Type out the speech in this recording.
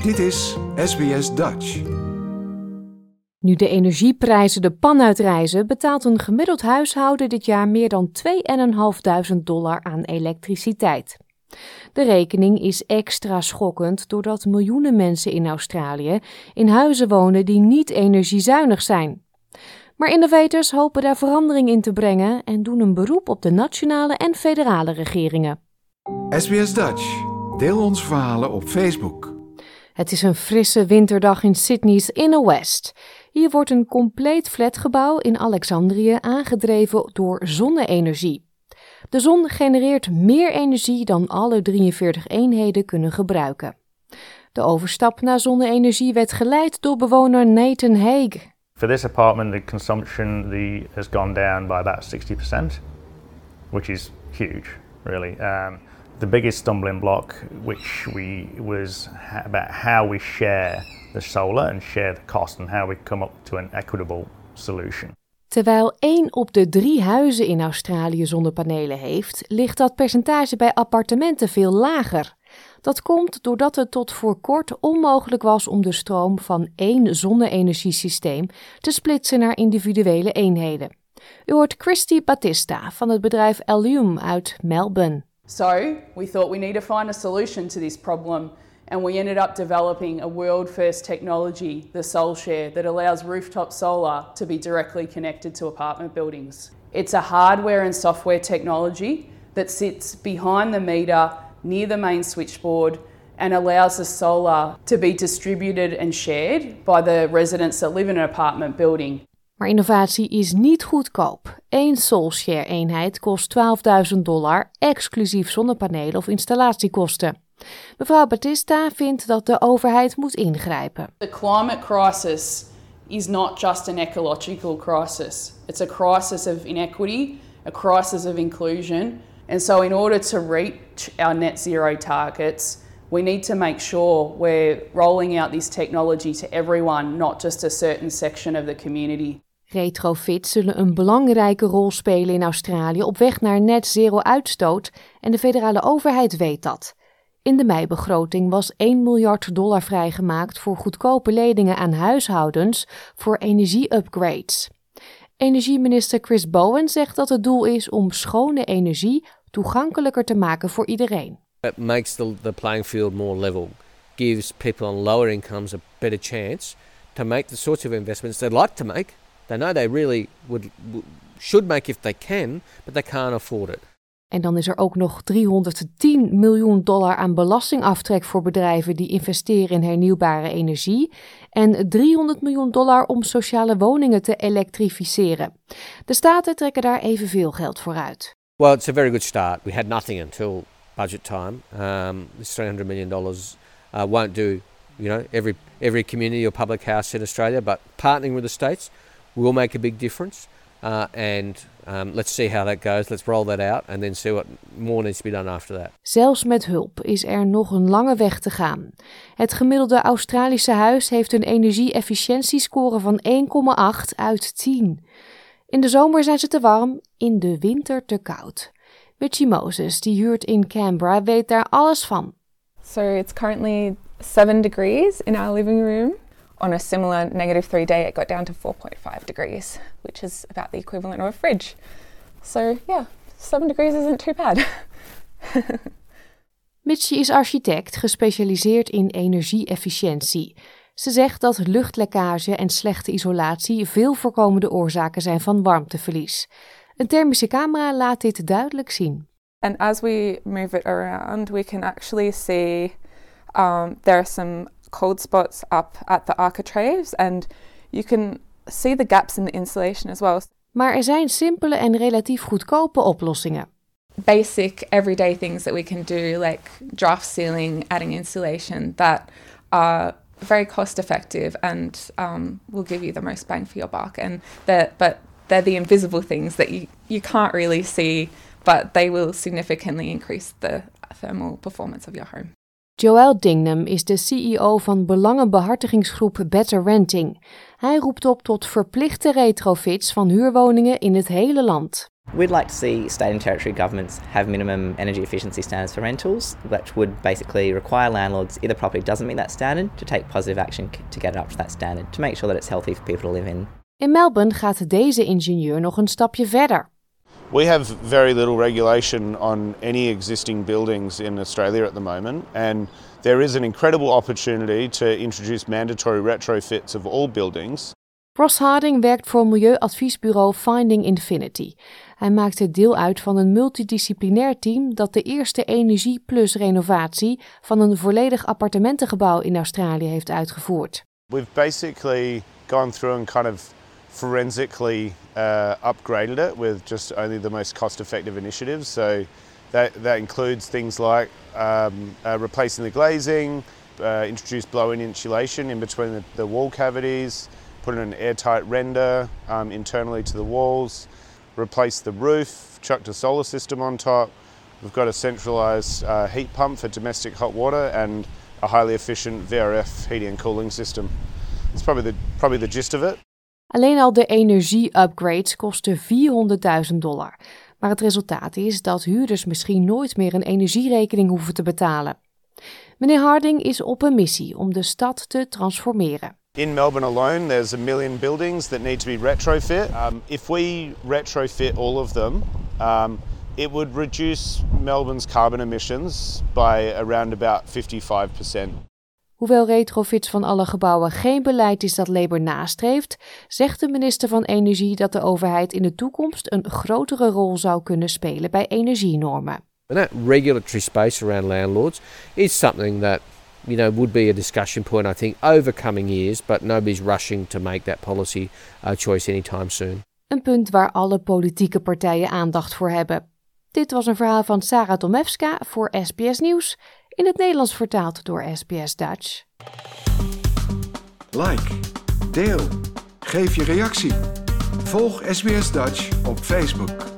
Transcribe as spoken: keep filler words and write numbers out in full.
Dit is S B S Dutch. Nu de energieprijzen de pan uitreizen, betaalt een gemiddeld huishouden dit jaar meer dan tweeduizend vijfhonderd dollar aan elektriciteit. De rekening is extra schokkend doordat miljoenen mensen in Australië in huizen wonen die niet energiezuinig zijn. Maar innovators hopen daar verandering in te brengen en doen een beroep op de nationale en federale regeringen. S B S Dutch. Deel onze verhalen op Facebook. Het is een frisse winterdag in Sydney's Inner West. Hier wordt een compleet flatgebouw in Alexandrië aangedreven door zonne-energie. De zon genereert meer energie dan alle drieënveertig eenheden kunnen gebruiken. De overstap naar zonne-energie werd geleid door bewoner Nathan Haig. For this apartment, the consumption the, has gone down by about sixty percent, which is huge, really. Um, the biggest stumbling block, which we was ha- about how we share the solar and share the cost and how we come up to an equitable solution. Terwijl één op de drie huizen in Australië zonnepanelen heeft, ligt dat percentage bij appartementen veel lager. Dat komt doordat het tot voor kort onmogelijk was om de stroom van één zonne-energiesysteem te splitsen naar individuele eenheden. U hoort Christy Battista van het bedrijf Allume uit Melbourne. So we thought we need to find a solution to this problem, and we ended up developing a world-first technology, the SolShare, that allows rooftop solar to be directly connected to apartment buildings. It's a hardware and software technology that sits behind the meter near the main switchboard and allows the solar to be distributed and shared by the residents that live in an apartment building. Maar innovatie is niet goedkoop. Eén SolShare-eenheid kost twaalfduizend dollar, exclusief zonnepanelen of installatiekosten. Mevrouw Battista vindt dat de overheid moet ingrijpen. The climate crisis is not just an ecological crisis. It's a crisis of inequity, a crisis of inclusion. And so in order to reach our net zero targets, we need to make sure we're rolling out this technology to everyone, not just a certain section of the community. Retrofits zullen een belangrijke rol spelen in Australië op weg naar net zero uitstoot en de federale overheid weet dat. In de meibegroting was één miljard dollar vrijgemaakt voor goedkope leningen aan huishoudens voor energie-upgrades. Energieminister Chris Bowen zegt dat het doel is om schone energie toegankelijker te maken voor iedereen. It makes the, the playing field more level, gives people on lower incomes a better chance to make the sorts of investments they'd like to make. They know they really would, should make if they can, but they can't afford it. En dan is er ook nog driehonderdtien miljoen dollar aan belastingaftrek voor bedrijven die investeren in hernieuwbare energie en driehonderd miljoen dollar om sociale woningen te elektrificeren. De staten trekken daar evenveel geld voor uit. Well, it's a very good start. We had nothing until budget time. Um, this three hundred million dollars uh, won't do, you know, every every community or public house in Australia, but partnering with the states will make a big difference. Uh, and um, let's see how that goes. Let's roll that out and then see what more needs to be done after that. Zelfs met hulp is er nog een lange weg te gaan. Het gemiddelde Australische huis heeft een energie-efficiëntiescore van één komma acht uit tien. In de zomer zijn ze te warm, in de winter te koud. Mitchie Moses, die huurt in Canberra, weet daar alles van. So it's currently seven degrees in our living room. On a similar negative three day, it got down to four point five degrees, which is about the equivalent of a fridge. So yeah, seven degrees isn't too bad. Mitchie is architect, gespecialiseerd in energie-efficiëntie. Ze zegt dat luchtlekkage en slechte isolatie veel voorkomende oorzaken zijn van warmteverlies. Een thermische camera laat dit duidelijk zien. And as we move it around, we can actually see um, there are some cold spots up at the architraves and you can see the gaps in the insulation as well. Maar er zijn simpele en relatief goedkope oplossingen. Basic everyday things that we can do, like draft sealing, adding insulation, that are very cost effective and um, will give you the most bang for your buck. And they're, but they're the invisible things that you, you can't really see, but they will significantly increase the thermal performance of your home. Joel Dingnam is de C E O van belangenbehartigingsgroep Better Renting. Hij roept op tot verplichte retrofits van huurwoningen in het hele land. We'd like to see state and territory governments have minimum energy efficiency standards for rentals, which would basically require landlords, if the property doesn't meet that standard, to take positive action to get it up to that standard, to make sure that it's healthy for people to live in. In Melbourne gaat deze ingenieur nog een stapje verder. We have very little regulation on any existing buildings in Australia at the moment, and there is an incredible opportunity to introduce mandatory retrofits of all buildings. Ross Harding werkt voor milieuadviesbureau Finding Infinity. Hij maakte deel uit van een multidisciplinair team dat de eerste Energie Plus renovatie van een volledig appartementengebouw in Australië heeft uitgevoerd. We've basically gone through and kind of forensically uh, upgraded it with just only the most cost-effective initiatives. So that that includes things like um, uh, replacing the glazing, uh, introduced blow-in insulation in between the, the wall cavities, put in an airtight render um, internally to the walls, replaced the roof, chucked a solar system on top. We've got a centralised uh, heat pump for domestic hot water and a highly efficient V R F heating and cooling system. That's probably the, probably the gist of it. Alleen al de energie-upgrades kosten vierhonderdduizend dollar. Maar het resultaat is dat huurders misschien nooit meer een energierekening hoeven te betalen. Meneer Harding is op een missie om de stad te transformeren. In Melbourne alone, there's a million buildings that need to be retrofit. Um, if we retrofit all of them, um, it would reduce Melbourne's carbon emissions by around about fifty-five percent. Hoewel retrofits van alle gebouwen geen beleid is dat Labour nastreeft, zegt de minister van Energie dat de overheid in de toekomst een grotere rol zou kunnen spelen bij energienormen. And that regulatory space around landlords is something that, you know, would be a discussion point, I think, over coming years, but nobody's rushing to make that policy uh, choice anytime soon. Een punt waar alle politieke partijen aandacht voor hebben. Dit was een verhaal van Sarah Tomewska voor S B S Nieuws, in het Nederlands vertaald door S B S Dutch. Like, deel, geef je reactie. Volg S B S Dutch op Facebook.